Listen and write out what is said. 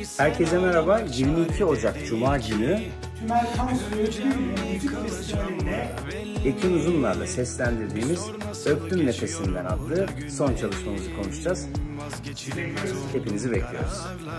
Herkese merhaba. 22 Ocak Cuma günü Tümer Kansu'yu müzik festivalinde Ekin Uzunlar'la seslendirdiğimiz Öptüm Nefesinden adlı son çalışmamızı konuşacağız. Hepinizi bekliyoruz.